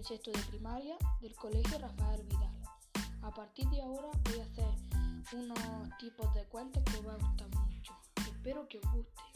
sexto de primaria del Colegio Rafael Vidal. A partir de ahora voy a hacer unos tipos de cuentos que os va a gustar mucho. Espero que os guste.